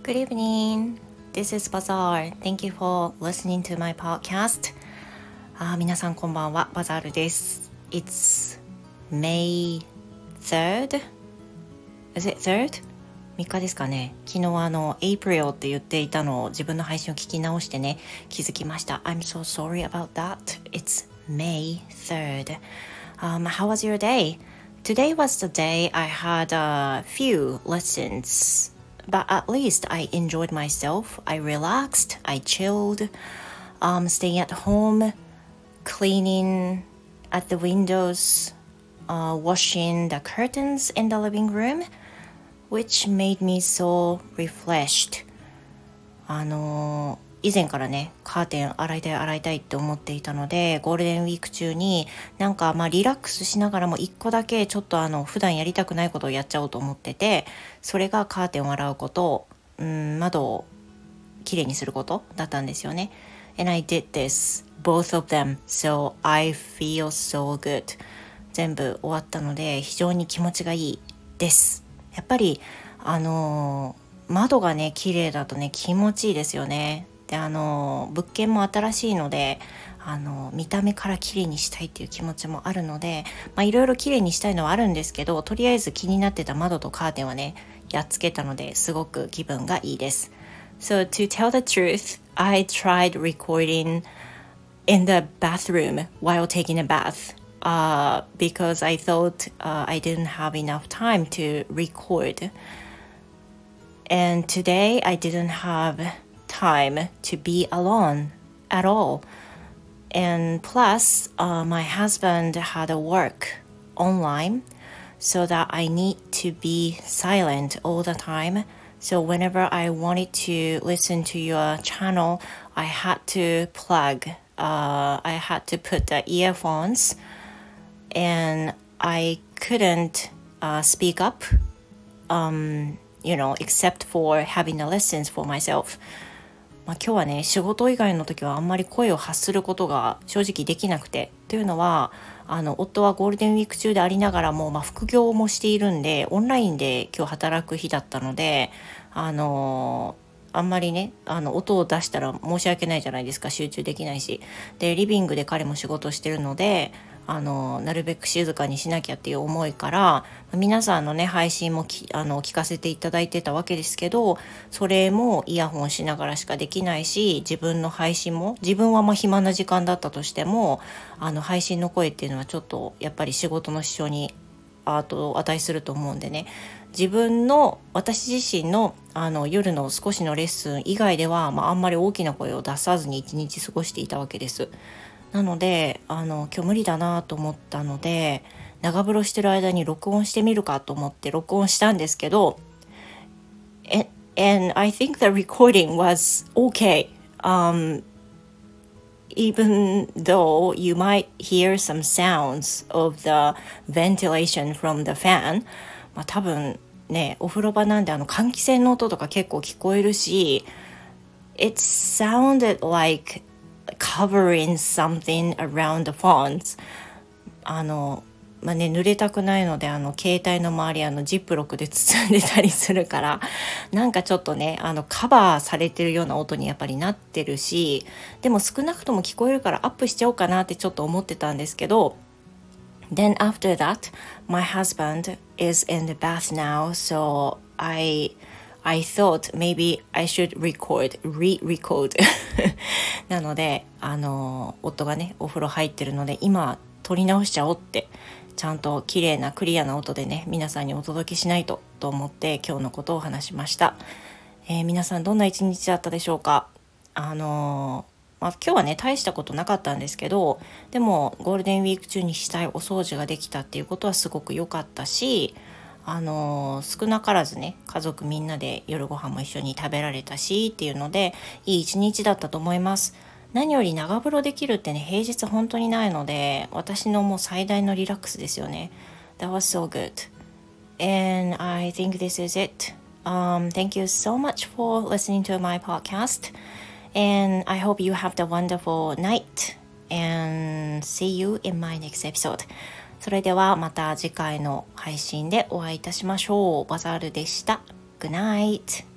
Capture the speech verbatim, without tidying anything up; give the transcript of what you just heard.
Good evening. This is Bazaar. Thank you for listening to my podcast. あ皆さんこんばんは、バザールです。It's May third? Is it third? みっかですかね。昨日あの April って言っていたのを自分の配信を聞き直してね、気づきました。I'm so sorry about that. It's May third. Um, how was your day? Today was the day I had a few lessons, but at least I enjoyed myself. I relaxed, I chilled, um, staying at home, cleaning at the windows, uh, washing the curtains in the living room, which made me so refreshed. あの以前からねカーテン洗いたい洗いたいって思っていたので、ゴールデンウィーク中になんかまあリラックスしながらも一個だけちょっとあの普段やりたくないことをやっちゃおうと思ってて、それがカーテンを洗うこと、うん、窓をきれいにすることだったんですよね。And I did this, both of them, so I feel so good. 全部終わったので非常に気持ちがいいです。やっぱりあのー、窓がね綺麗だとね気持ちいいですよね。であのー、物件も新しいのであのー、見た目から綺麗にしたいっていう気持ちもあるので、まあいろいろ綺麗にしたいのはあるんですけど、とりあえず気になってた窓とカーテンはねやっつけたのですごく気分がいいです。So to tell the truth, I tried recording in the bathroom while taking a bath.Uh, because I thought uh, I didn't have enough time to record. And today I didn't have time to be alone at all. And plus, uh, my husband had a work online, so that I need to be silent all the time. So whenever I wanted to listen to your channel, I had to plug, uh, I had to put the earphones.And I couldn't uh, speak up, um, you know, except for having the lessons for myself. まあ、今日はね、仕事以外の時はあんまり声を発することが正直できなくて。というのは、あの、夫はゴールデンウィーク中でありながらも、まあ、副業もしているんで、オンラインで今日働く日だったので、あのー、あんまりね、あの、音を出したら申し訳ないじゃないですか。集中できないし。で、リビングで彼も仕事してるので、あのなるべく静かにしなきゃっていう思いから皆さんのね配信もきあの聞かせていただいてたわけですけど、それもイヤホンしながらしかできないし、自分の配信も自分はまあ暇な時間だったとしてもあの配信の声っていうのはちょっとやっぱり仕事の支障にあと値すると思うんでね、自分の私自身のあの夜の少しのレッスン以外では、まあ、あんまり大きな声を出さずに一日過ごしていたわけです。なのであの今日無理だなと思ったので、長風呂してる間に録音してみるかと思って録音したんですけど、and, and I think the recording was okay, um, even though you might hear some sounds of the ventilation from the fan. まあ、多分ねお風呂場なんであの換気扇の音とか結構聞こえるし、 It sounded like covering something around the phones. あのまあね濡れたくないのであの携帯の周りあのジップロックで包んでたりするからなんかちょっとねあのカバーされてるような音にやっぱりなってるし、でも少なくとも聞こえるからアップしちゃおうかなってちょっと思ってたんですけど、 Then after that my husband is in the bath now, so I I thought maybe I should record, re-record なのであの夫がねお風呂入ってるので今撮り直しちゃおうってちゃんと綺麗なクリアな音でね皆さんにお届けしないとと思って今日のことを話しました。えー、皆さんどんな一日だったでしょうか。あのまあ、今日はね大したことなかったんですけど、でもゴールデンウィーク中にしたいお掃除ができたっていうことはすごく良かったし、あの少なからずね家族みんなで夜ご飯も一緒に食べられたしっていうのでいい一日だったと思います。何より長風呂できるってね平日本当にないので私のもう最大のリラックスですよね。 That was so good and I think this is it. Um, thank you so much for listening to my podcast and I hope you have the wonderful night and see you in my next episode. それではまた次回の配信でお会いいたしましょう。バザールでした。Good night.